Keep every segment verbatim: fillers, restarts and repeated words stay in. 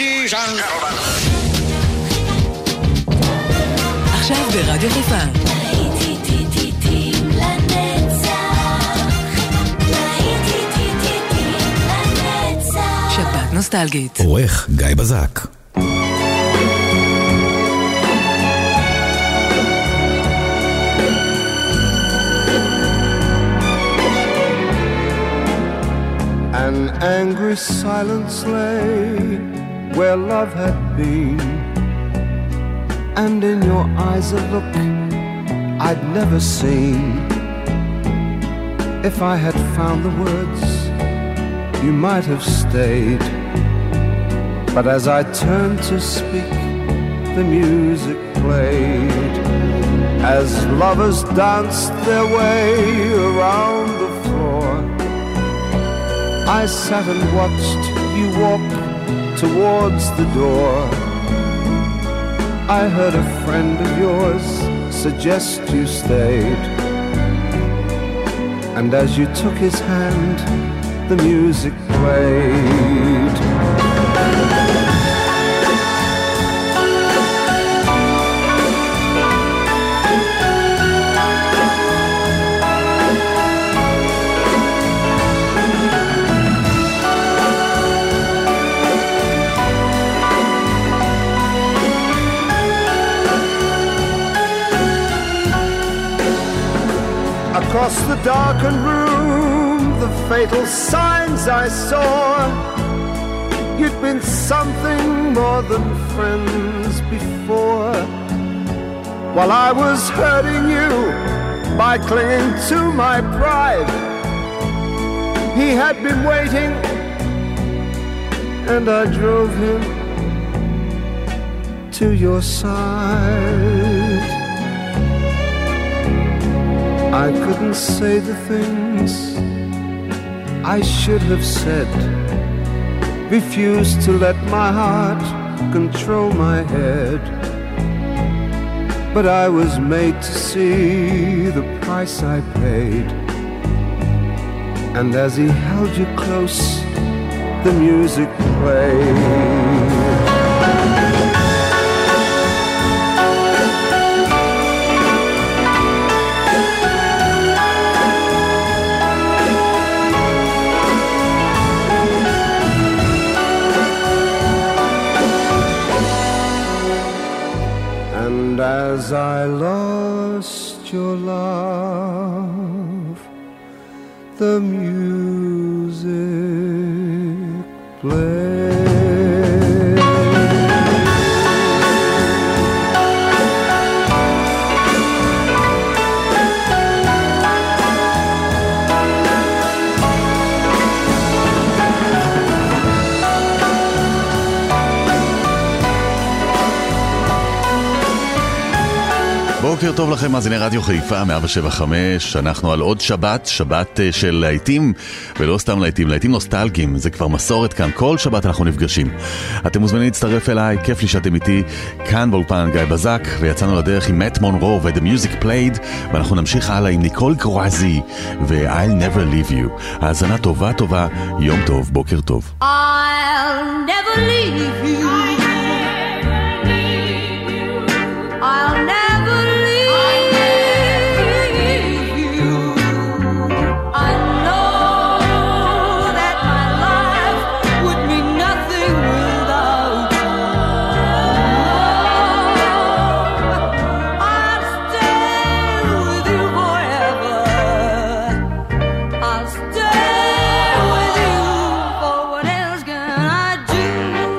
Ladies and gentlemen. עכשיו ברדיו חיפה. שבת נוסטלגית. עורך גיא בזק. An angry silence lay where love had been, and in your eyes a look I'd never seen. If I had found the words, you might have stayed. But as I turned to speak, the music played. As lovers danced their way around the floor, I sat and watched you walk towards the door. I heard a friend of yours suggest you stayed, and as you took his hand, the music played. Across the darkened room, the fatal signs I saw. You'd been something more than friends before. While I was hurting you by clinging to my pride, he had been waiting, and I drove him to your side. I couldn't say the things I should have said, refused to let my heart control my head. But I was made to see the price I paid, and as he held you close, the music played. As I lost your love, the music played. בוקר טוב לכם, מאזיני רדיו חיפה מאה שבע חמש. אנחנו על עוד שבת, שבת של להיטים, ולא סתם להיטים, להיטים נוסטלגיים. זה כבר מסורת כאן, כל שבת אנחנו נפגשים. אתם מוזמנים להצטרף אליי, כיף לי שאתם איתי כאן באולפן גיא בזק, ויצאנו לדרך עם מאט מונרו ו-The Music Played, ואנחנו נמשיך הלאה עם ניקול קרואזי ו-I'll Never Leave You. האזנה טובה טובה, יום טוב, בוקר טוב. I'll never leave you. I'll never leave you. I know that my life would mean nothing without you. I'll stay with you forever. I'll stay with you, for what else can I do?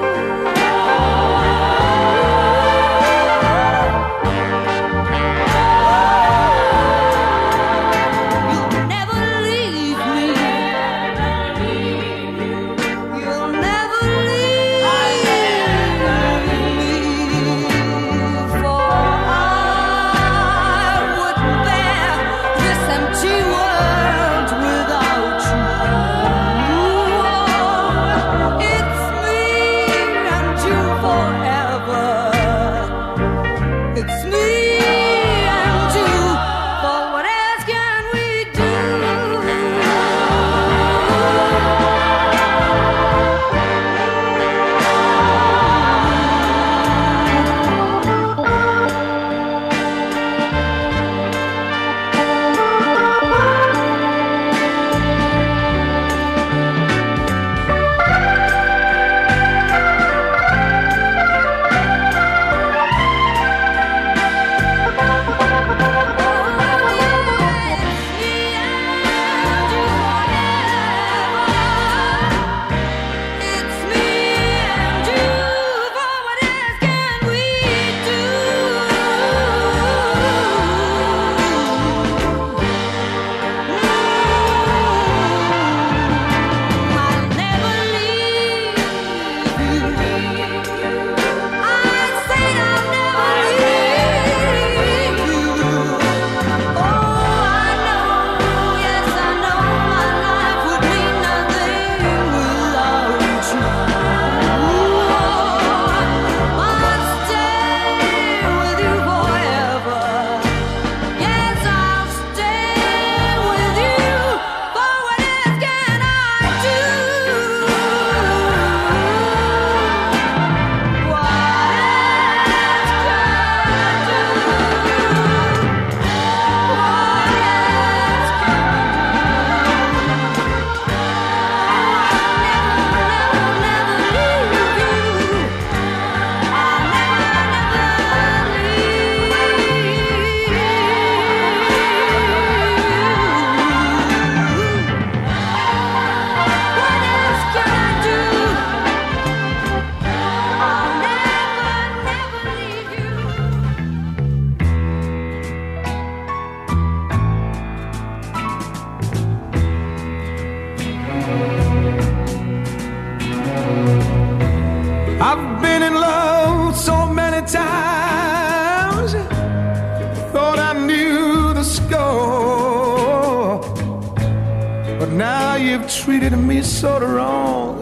Treated me so wrong,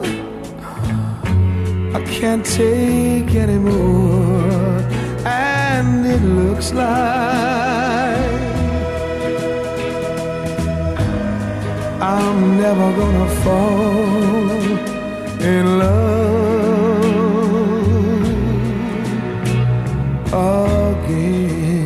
I can't take anymore, and it looks like I'm never gonna fall in love again.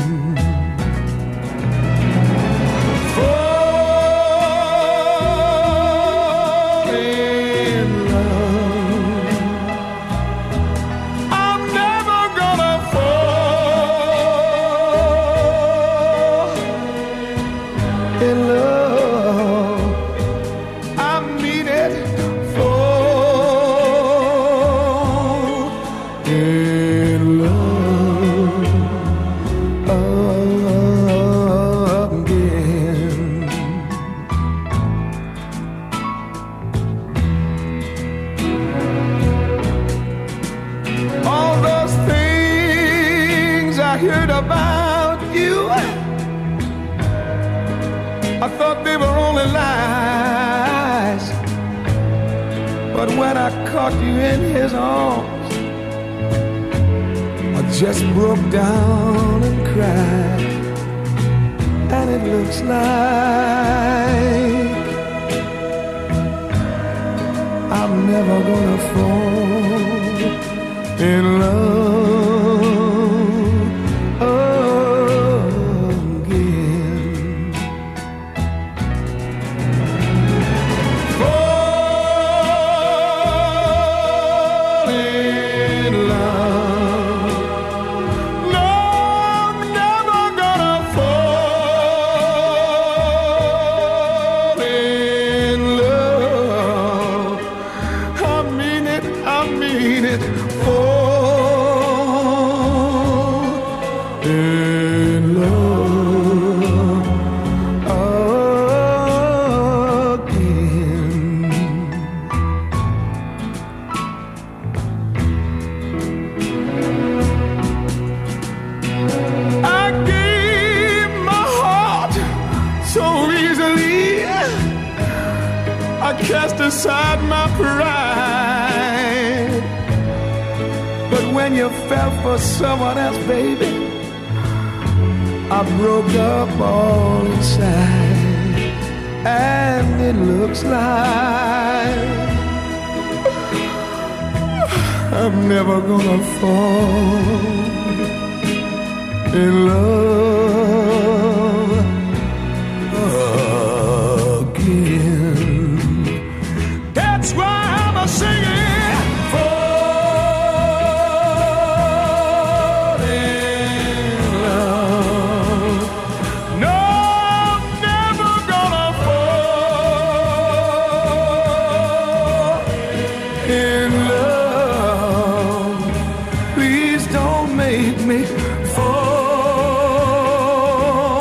Caught you in his arms, I just broke down and cried, and it looks like I'm never gonna fall in love again. Cast aside my pride, but when you fell for someone else, baby, I broke up all inside, and it looks like I'm never gonna fall in love again. That's why I'm a singing, fall in love. No, I'm never gonna fall in love. Please don't make me fall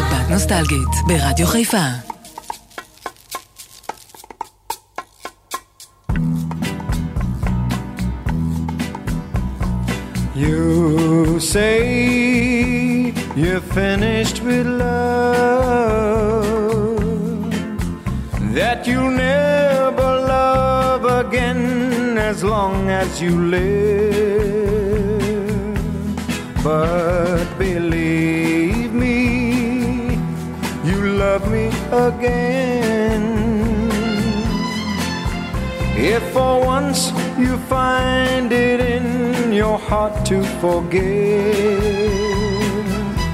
שבת נוסטלגית ברדיו חיפה. You say you're finished with love, that you'll never love again as long as you live. But believe me, you love me again. If for once you find it in your heart to forgive,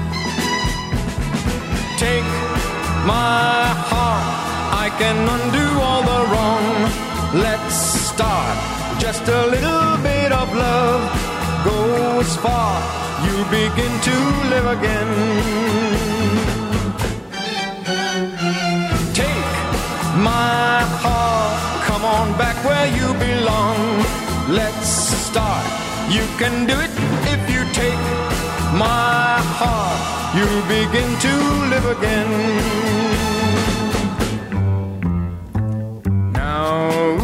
take my heart, I can undo all the wrong. Let's start, just a little bit of love goes far, you begin to live again. Take my heart, come on back where you belong. Let's start, you can do it if you take my heart, you'll begin to live again. Now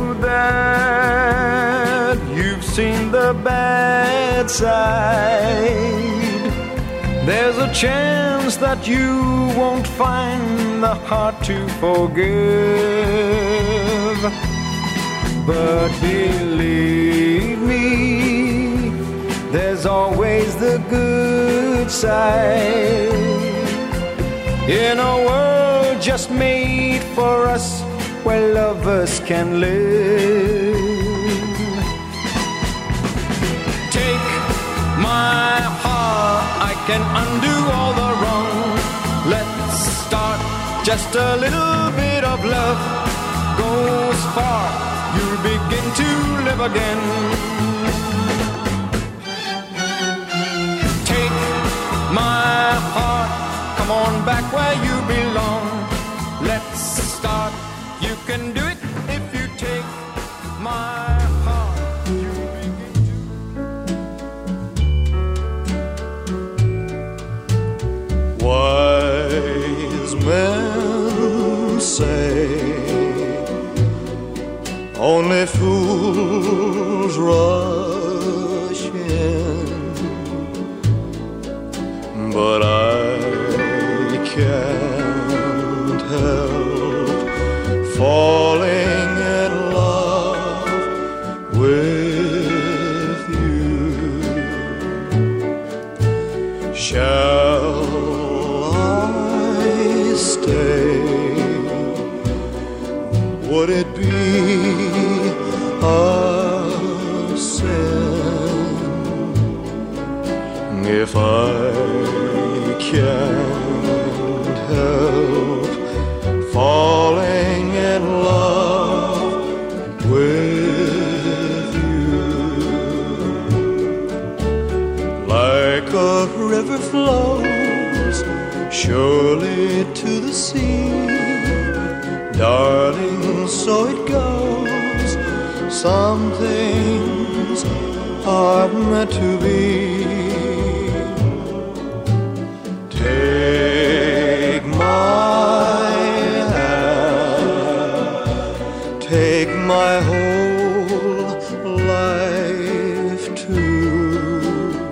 that you've seen the bad side, there's a chance that you won't find the heart to forgive. But believe me, there's always the good side. In a world just made for us, where lovers can live. Take my heart, I can undo all the wrong. Let's start, just a little bit of love goes far, you'll begin to live again. Take my heart, come on back where you belong. Let's start, you can do it if you take my heart, you'll begin to. Wise men say only fools rush in, but I can't help falling in love with you. Shall I stay? Would it be a sin if I can't help falling in love with you? Like a river flows surely to the sea, darling, so it goes. Some things are meant to be. Take my hand, take my whole life too,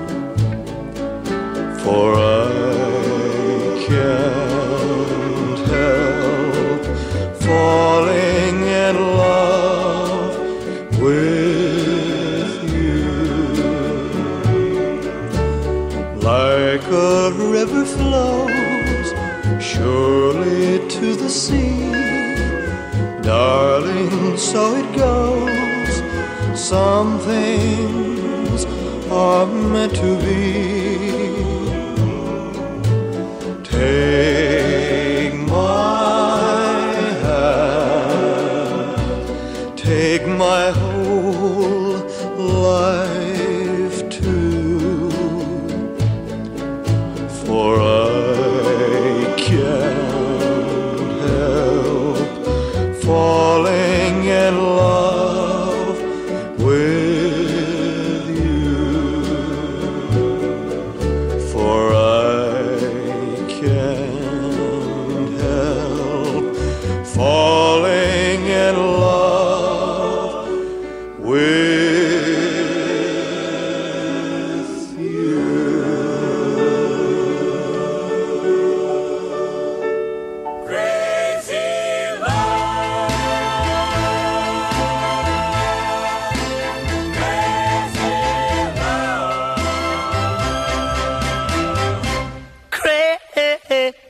for I can't help falling in love with you. Like a river flows surely to the sea, darling, so it goes. Some things are meant to be. Take my hand, take my whole life too, for I can't help falling in love with you.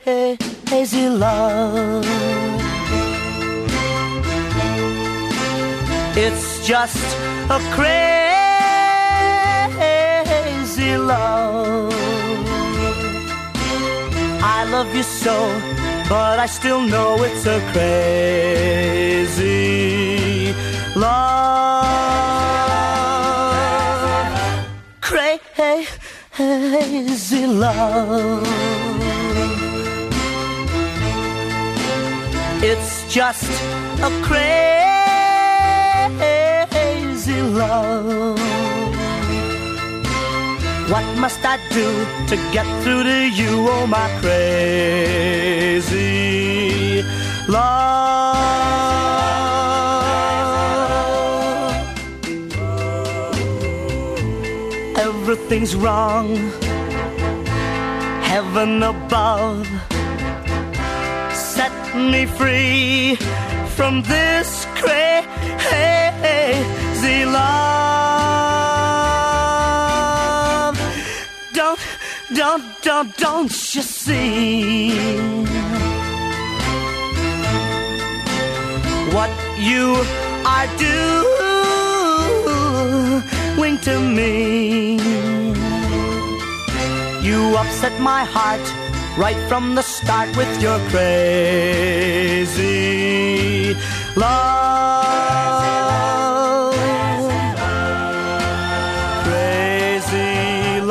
crazy love. It's just a crazy love. I love you so, but I still know it's a crazy love. Crazy love. It's just a crazy love. What must I do to get through to you, oh my crazy love? Everything's wrong, heaven above, set me free from this crazy love. Don't, don't, don't, don't you see what you are doing to me? You upset my heart right from the start with your crazy love. Crazy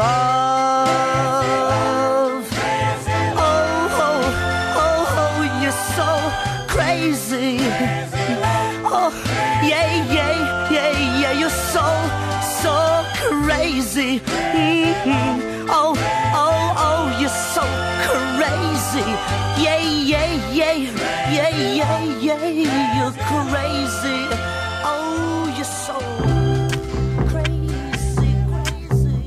love. Oh, oh, oh, oh, you're so crazy. Oh, yeah, yeah, yeah, yeah, you're so, so crazy. Mm-hmm. Oh, oh, oh, you're so crazy. Yeah, yeah, yeah, yeah, yeah, yeah, you're crazy. Oh, you're so crazy, crazy.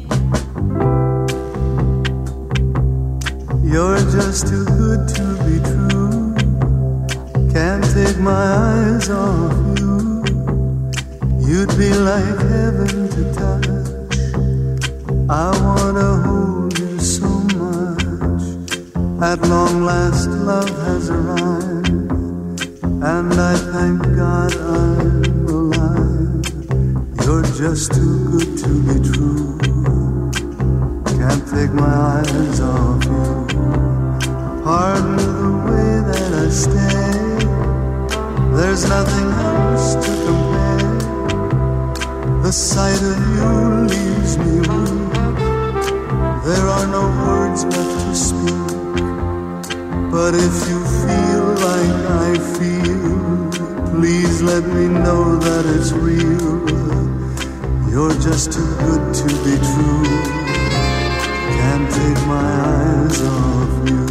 You're just too good to be true. Can't take my eyes off you. You'd be like heaven to touch. I wanna hold you so much. At long last love has arrived, and I thank God I'm alive. You're just too good to be true. Can't take my eyes off you. Pardon the way that I stay. There's nothing else to compare. The sight of you leaves me weak. There are no words left to speak. But if you feel like I feel, please let me know that it's real. You're just too good to be true. Can't take my eyes off you.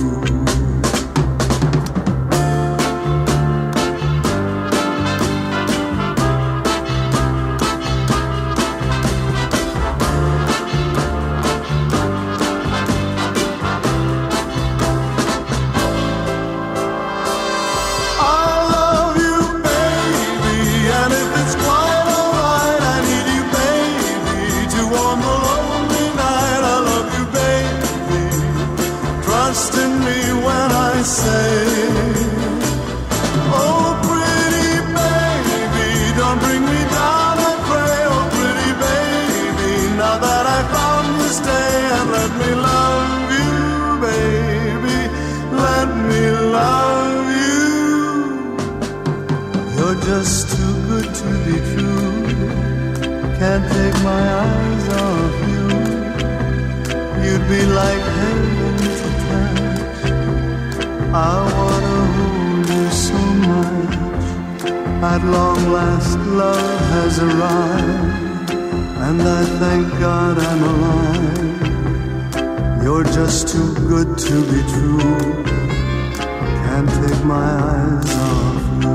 Just too good to be true. Can't take my eyes off you. You'd be like heaven to touch. I wanna hold you so much. At long last love has arrived, and I thank God I'm alive. You're just too good to be true. Can't take my eyes off you.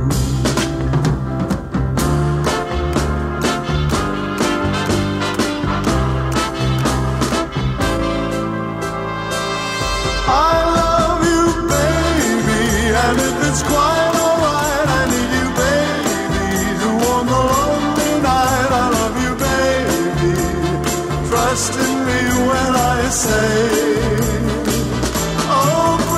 It's quite alright, I need you, baby, to warm the lonely night. I love you, baby, trust in me when I say, oh,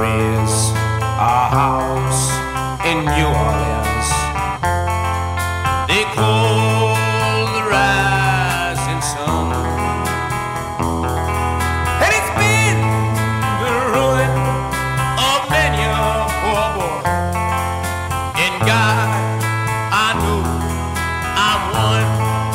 is a house in New Orleans they call the rising sun, and it's been the ruin of many a poor boy. And God, I know I'm one.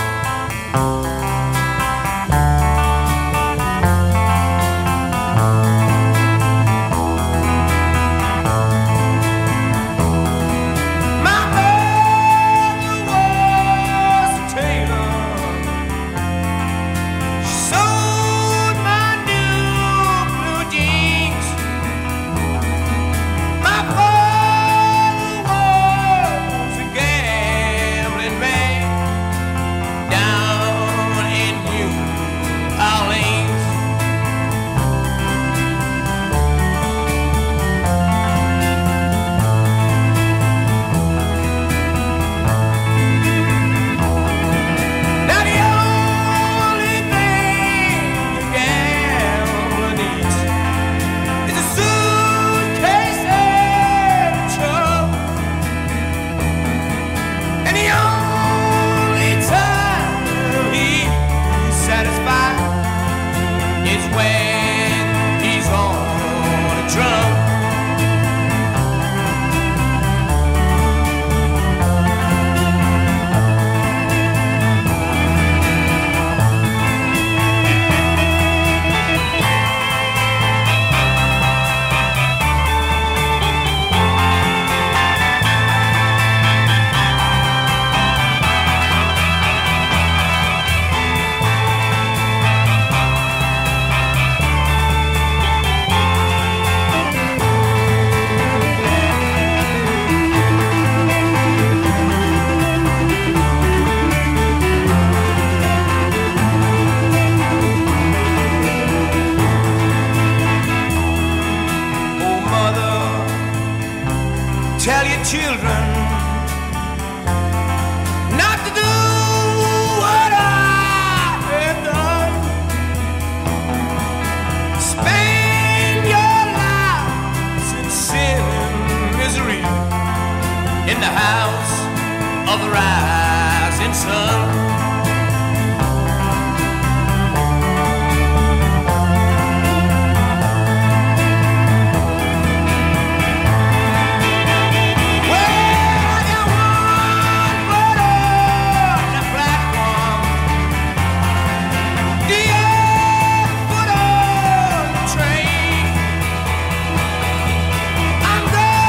Tell your children not to do what I have done. Spend your lives in sin and misery in the house of the rising sun.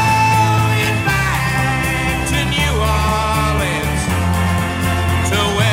Where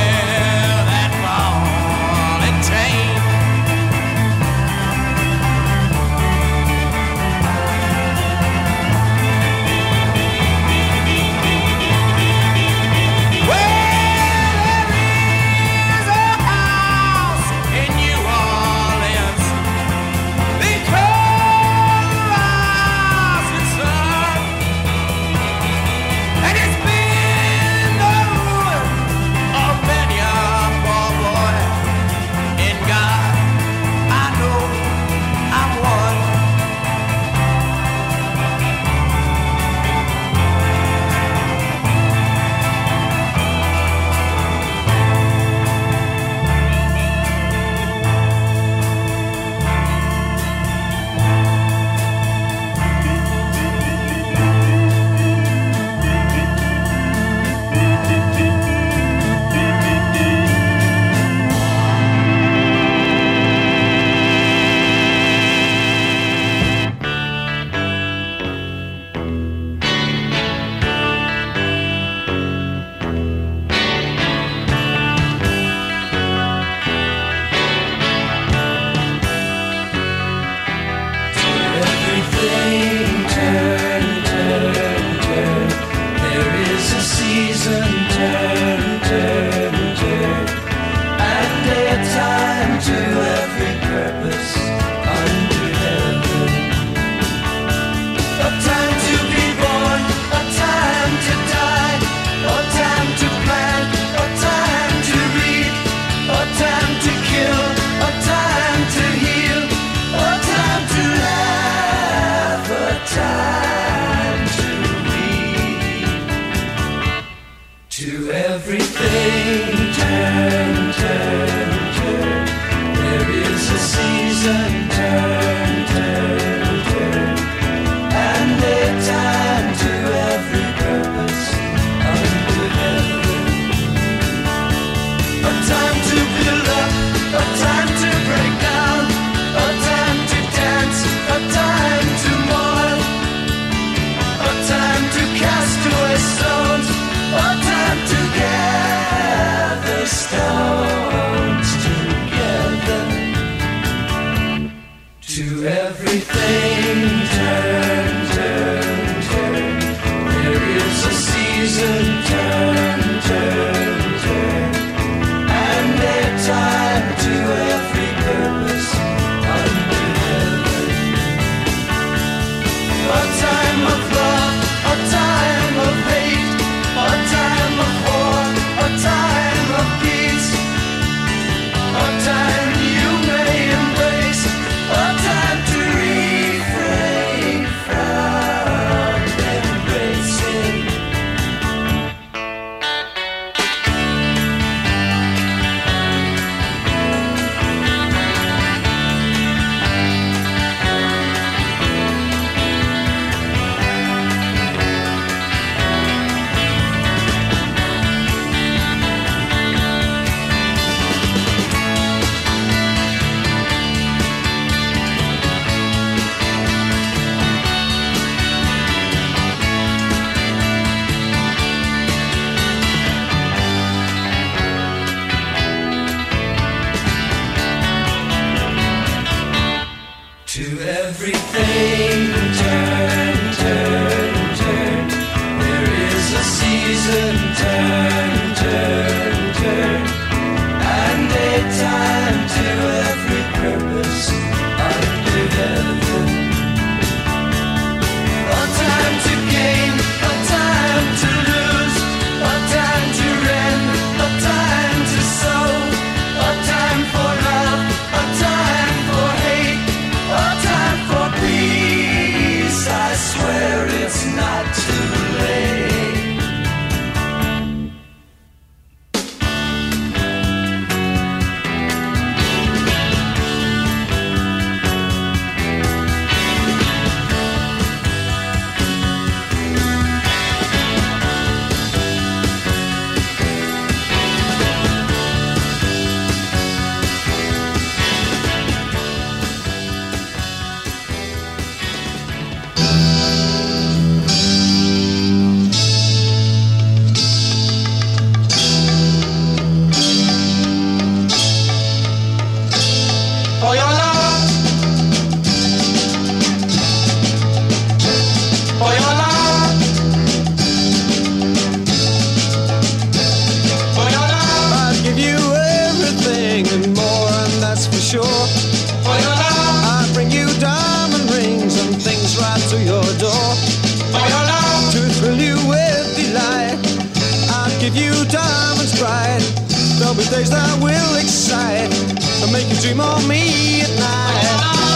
to your door. For your love to thrill you with delight, I'll give you diamonds bright. There'll be days that will excite and make you dream of me at night.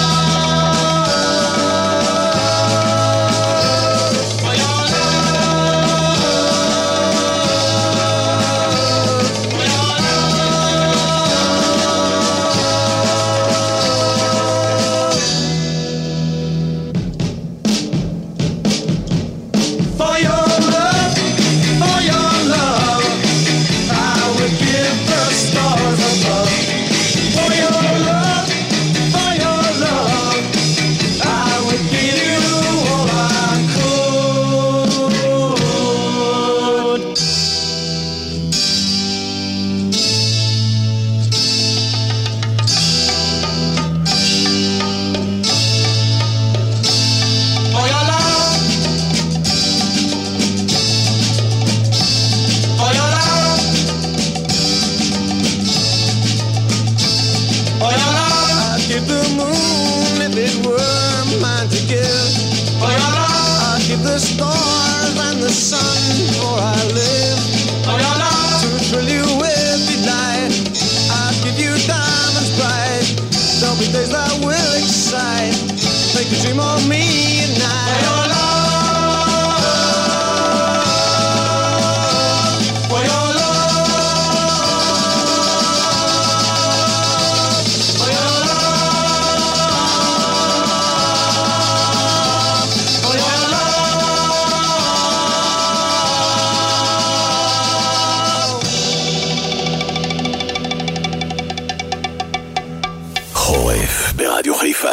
ברדיו חיפה.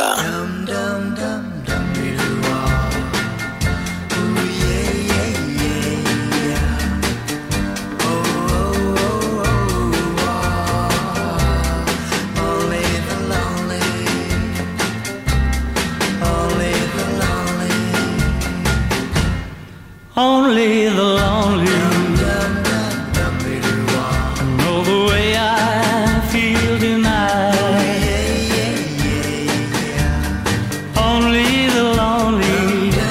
Only the lonely know the way I feel tonight. Only the lonely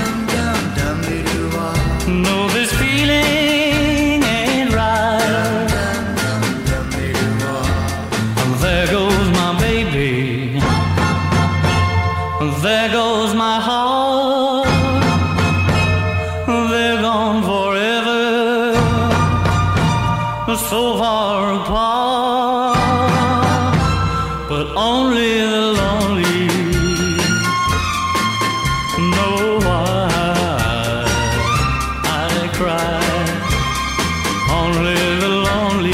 know this feeling ain't right. There goes my baby, there goes my heart. They're gone forever, so far apart. But only the lonely know why I cry. Only the lonely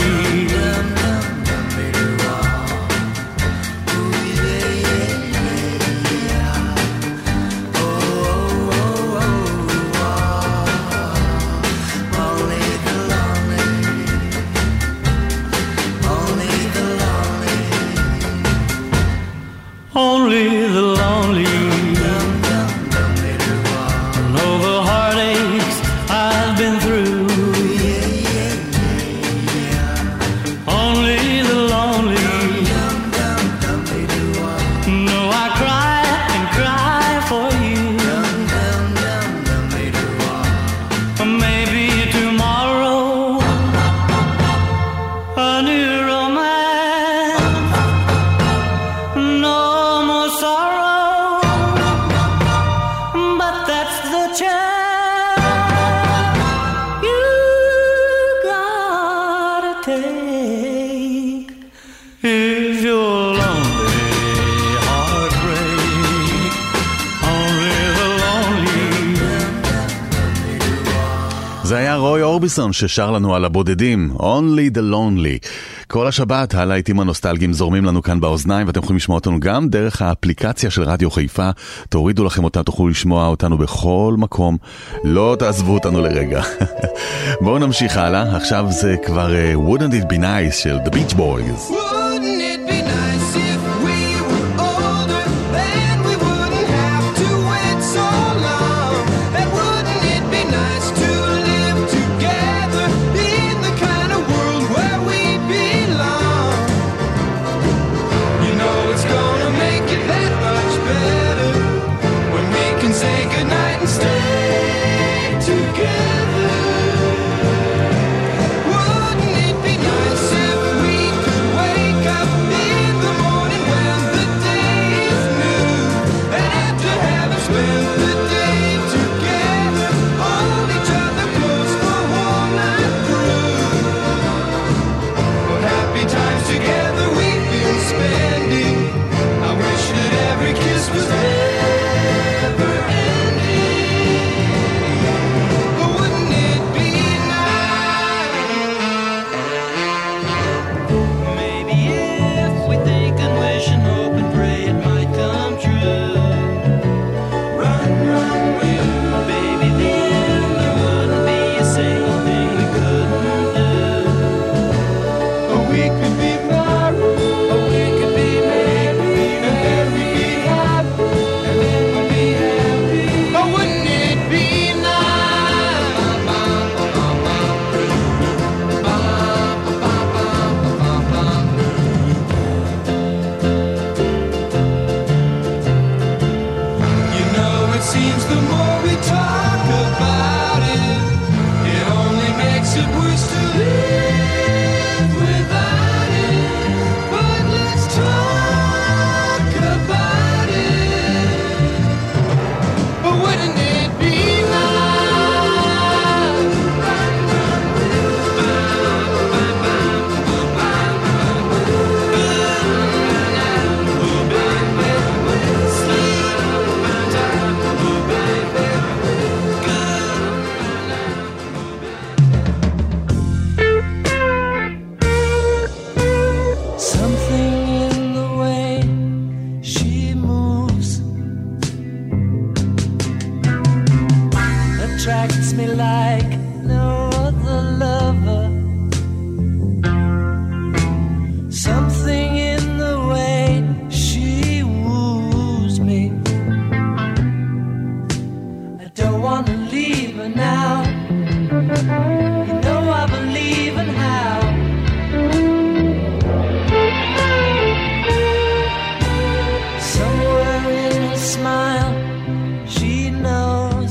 Only the lonely know the heartaches I've been through. Only the lonely know I cry and cry for you. Maybe tomorrow a new romance. No more sorrow, but that's the chance you gotta take. If you're lonely, heartbreak, only the lonely. זה היה רוי אורביסון ששר לנו על הבודדים, Only the Lonely. כל השבת הלהיטים הנוסטלגיים זורמים לנו כאן באוזניים, ואתם יכולים לשמוע אותנו גם דרך האפליקציה של רדיו חיפה. תורידו לכם אותה, תוכלו לשמוע אותנו בכל מקום, לא תעזבו אותנו לרגע. בואו נמשיך הלאה, עכשיו זה כבר uh, Wouldn't It Be Nice של The Beach Boys. Wouldn't it be nice if we were older, then we wouldn't have to wait so long? And wouldn't it be nice to live together in the kind of world where we belong? You know it's gonna make it that much better when we can say goodnight talk about it, it only makes it worse to live without it. But let's talk about it. But wouldn't it be attracts me like no other lover. Something in the way she woos me. I don't want to leave her now. You know I believe in how. Somewhere in her smile, she knows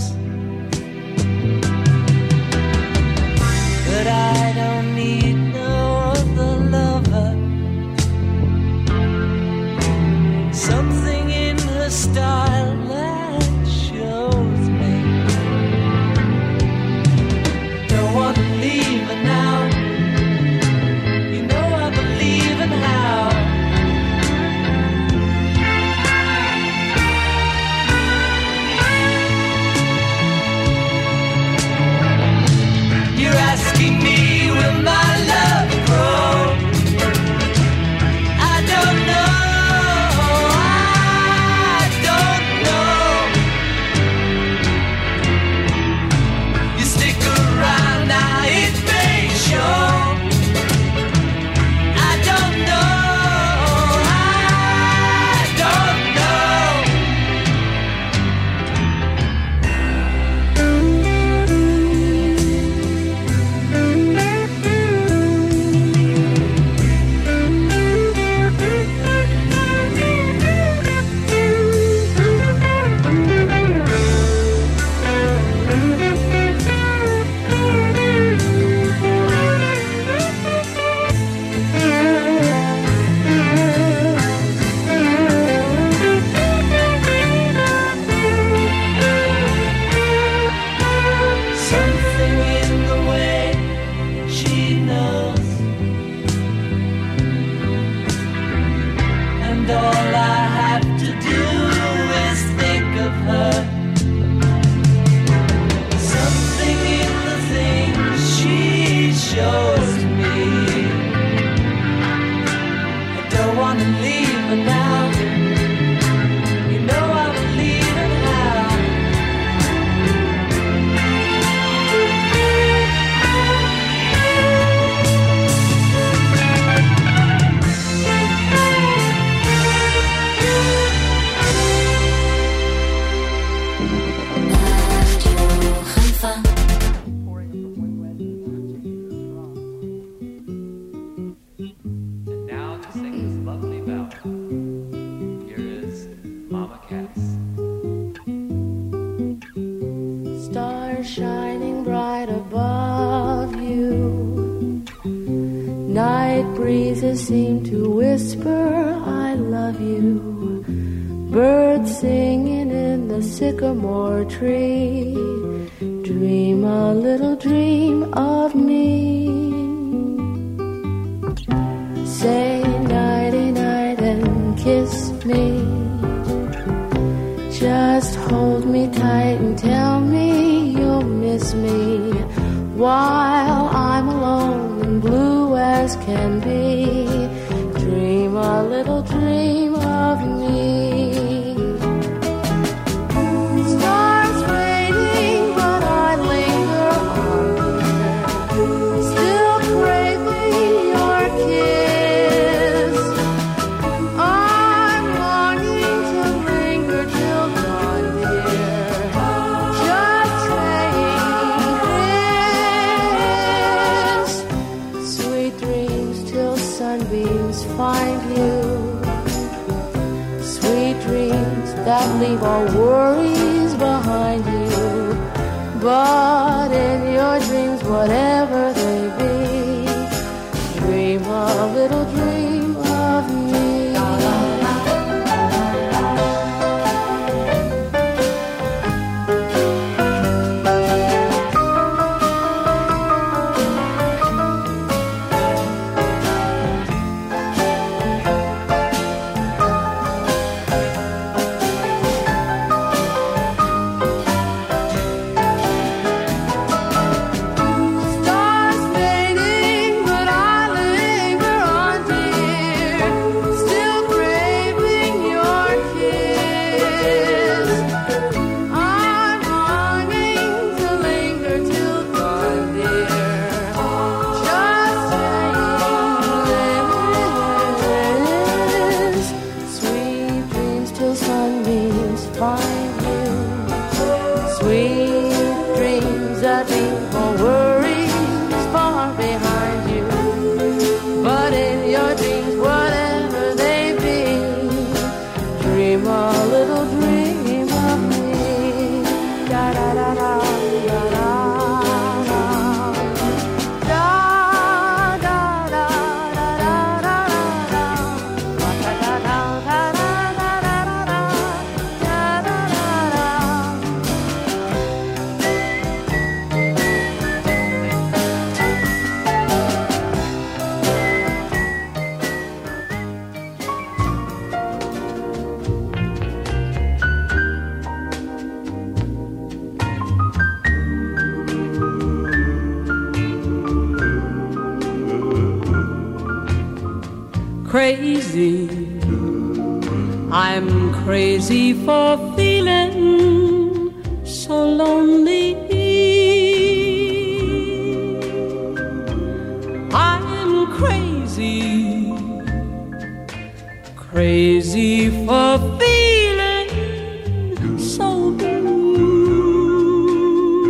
that I don't need no other lover. Something in her style that shows me. Don't want to leave her now. You know I believe in how. You're asking me, will my love grow? I don't know, I don't know. You stick around, now it may show. I don't know, I don't know. Something in the way she knows, and all I have to do is think of her. Something in the things she shows me. I don't want to leave her now. You know I believe in how. And now to sing this lovely ballad, here is Mama Cass. Stars shining bright above you. Night breezes seem to whisper, I love you. Birds singing in the sycamore tree. Dream a little dream of me. Say nighty night and kiss me. Just hold me tight and tell me you'll miss me while I'm alone and blue as can be. Dream a little dream of me. Stars fading, but I linger on here, still craving your kiss. I'm longing to linger till dawn, dear, just saying this. Sweet dreams till sunbeams find you. But in your dreams, whatever they be, dream a little dream of me. Crazy, I'm crazy for feeling so lonely. I'm crazy, crazy for feeling so blue.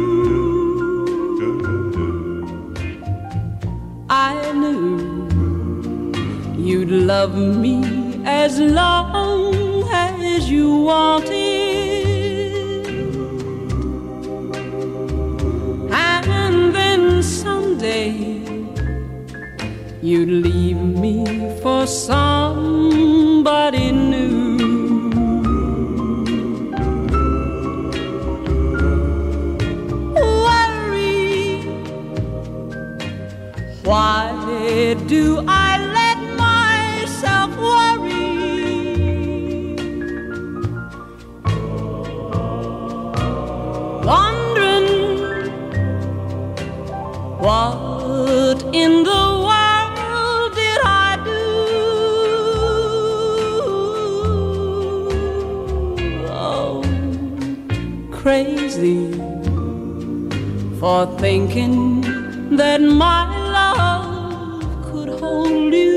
I knew you'd love me as long as you wanted, and then someday you'd leave me for somebody new. Worry, why do I let myself worry? Wondering what in the world did I do? Oh, crazy for thinking that my love could hold you.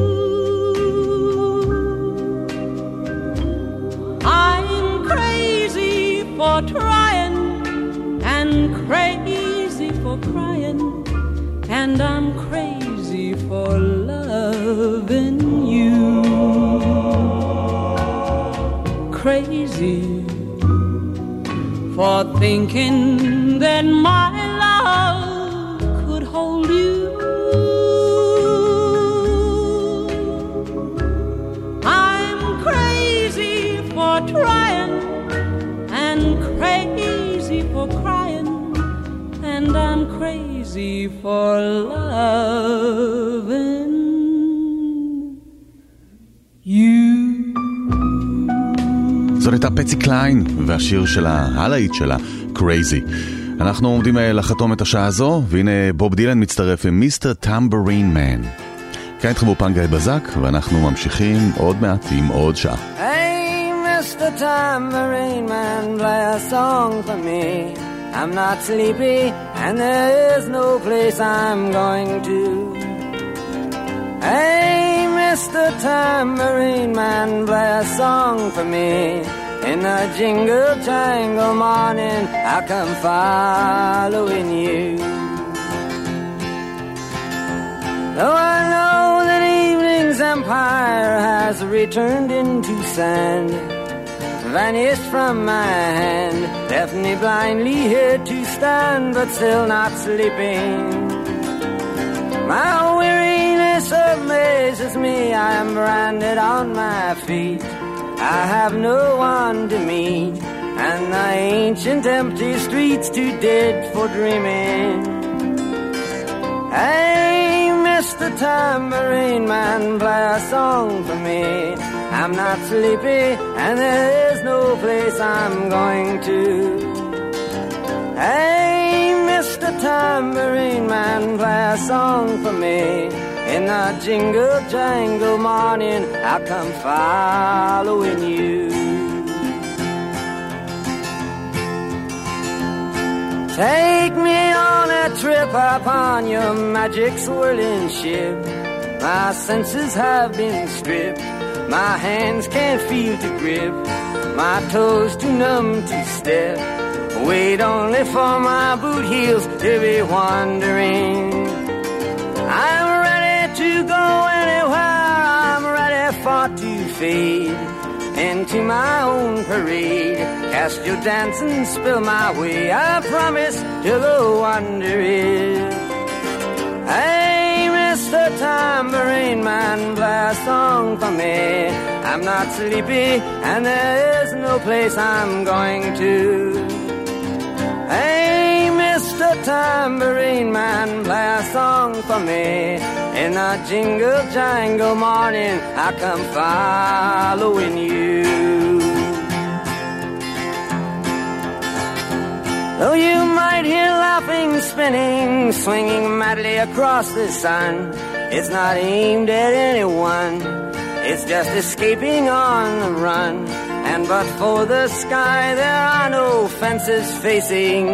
I'm crazy for trying and crazy for crying, and I'm crazy for loving you. Crazy for thinking that my love could hold you. I'm crazy for trying and crazy for crying, and I'm crazy for loving you. זאת הייתה פצי קליין והשיר שלה, הלהיט שלה, Crazy. אנחנו עומדים לחתום את השעה הזו, והנה בוב דילן מצטרף עם מיסטר טמבורין מן. כאן איתכם באופן גיא בזק, ואנחנו ממשיכים עוד מעט עם עוד שעה. Hey, Mister Tambourine Man, play a song for me. I'm not sleepy, and there is no place I'm going to. Hey, Mister Tambourine Man, play a song for me. In a jingle jangle morning, I come following you. Though I know that evening's empire has returned into sand, vanished from my hand, left me blindly here to stand, but still not sleeping. My weariness amazes me, I am branded on my feet. I have no one to meet, and the ancient empty streets too dead for dreaming. Hey, Mister Tambourine Man, play a song for me. I'm not sleepy, and there is no place I'm going to. Hey, Mister Tambourine Man, play a song for me. In the jingle jangle morning, I'll come following you. Take me on a trip upon your magic swirling ship. My senses have been stripped, my hands can't feel to grip, my toes too numb to step. Wait only for my boot heels to be wandering. I'm ready to go anywhere, I'm ready for to fade into my own parade. Cast your dance and spill my way, I promise to go under it. Hey, Mister Tambourine Man, play a song for me. I'm not sleepy, and there is no place I'm going to. Hey, Mister Tambourine Man, play a song for me. In the jingle jangle morning, I come following you. Though you might hear laughing, spinning, swinging madly across the sun, it's not aimed at anyone, it's just escaping on the run. And but for the sky, there are no fences facing.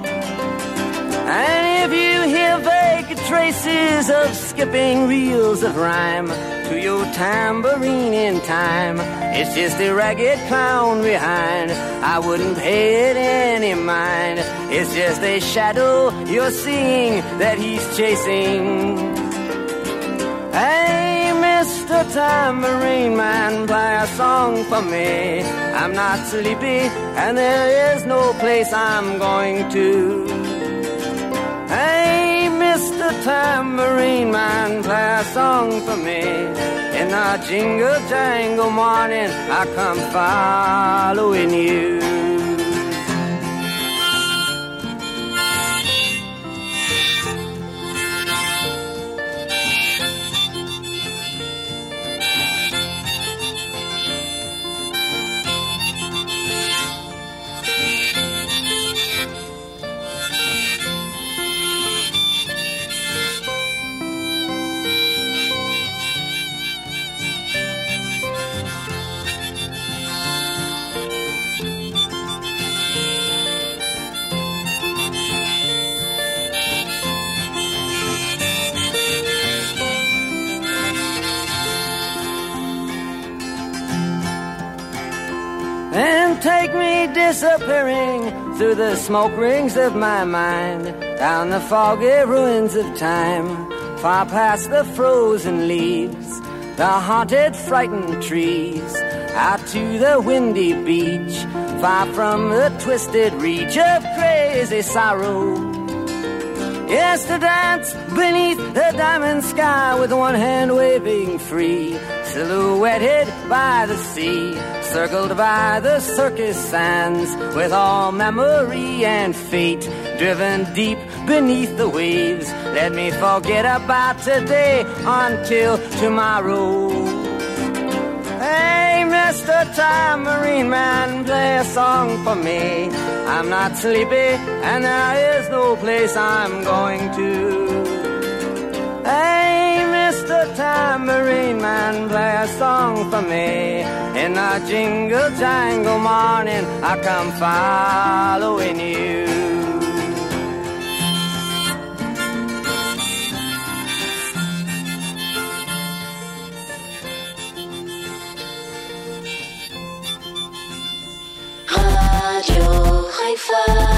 And if you hear vague traces of skipping reels of rhyme to your tambourine in time, it's just a ragged clown behind. I wouldn't pay it any mind. It's just a shadow you're seeing that he's chasing. Hey, Mister Tambourine Man, play a song for me. I'm not sleepy, and there is no place I'm going to. Hey, Mister Tambourine Man, play a song for me. In the jingle jangle morning, I come following you. And take me disappearing through the smoke rings of my mind, down the foggy ruins of time, far past the frozen leaves, the haunted frightened trees, out to the windy beach, far from the twisted reach of crazy sorrow. Yes, to dance beneath the diamond sky with one hand waving free, silhouetted by the sea, circled by the circus sands, with all memory and fate driven deep beneath the waves. Let me forget about today until tomorrow. Hey, Mister Tambourine Man, play a song for me. I'm not sleepy, and there is no place I'm going to. Hey, Mister Tambourine Man, play a song for me. In the jingle jangle morning, I come following you. Radio Haifa.